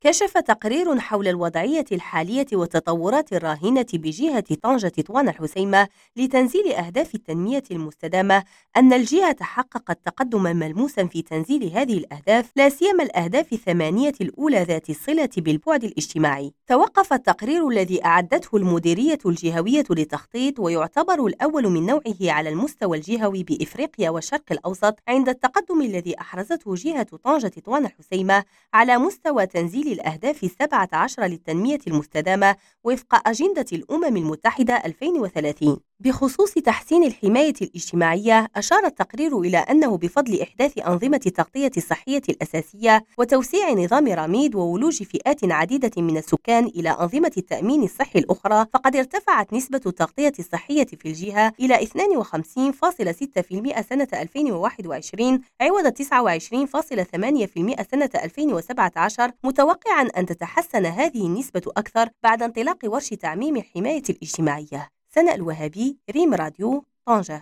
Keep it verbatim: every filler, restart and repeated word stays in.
كشف تقرير حول الوضعية الحالية والتطورات الراهنة بجهة طنجة طوان الحسيمة لتنزيل أهداف التنمية المستدامة أن الجهة حققت تقدما ملموسا في تنزيل هذه الأهداف، لا سيما الأهداف الثمانية الأولى ذات الصلة بالبعد الاجتماعي. توقف التقرير الذي أعدته المديرية الجهوية للتخطيط، ويعتبر الأول من نوعه على المستوى الجهوي بإفريقيا والشرق الأوسط، عند التقدم الذي أحرزته جهة طنجة طوان الحسيمة على مستوى تنزيل الأهداف السبعة عشر للتنمية المستدامة وفق أجندة الأمم المتحدة ألفين وثلاثين. بخصوص تحسين الحماية الاجتماعية، أشار التقرير إلى أنه بفضل إحداث أنظمة التغطية الصحية الأساسية وتوسيع نظام رميد وولوج فئات عديدة من السكان إلى أنظمة التأمين الصحي الأخرى، فقد ارتفعت نسبة التغطية الصحية في الجهة إلى اثنين وخمسين فاصلة ستة بالمئة سنة ألفين وواحد وعشرين عوض تسعة وعشرين فاصلة ثمانية بالمئة سنة ألفين وسبعة عشر، متوقعا أن تتحسن هذه النسبة أكثر بعد انطلاق ورش تعميم الحماية الاجتماعية. سناء الوهابي، ريم راديو، طنجة.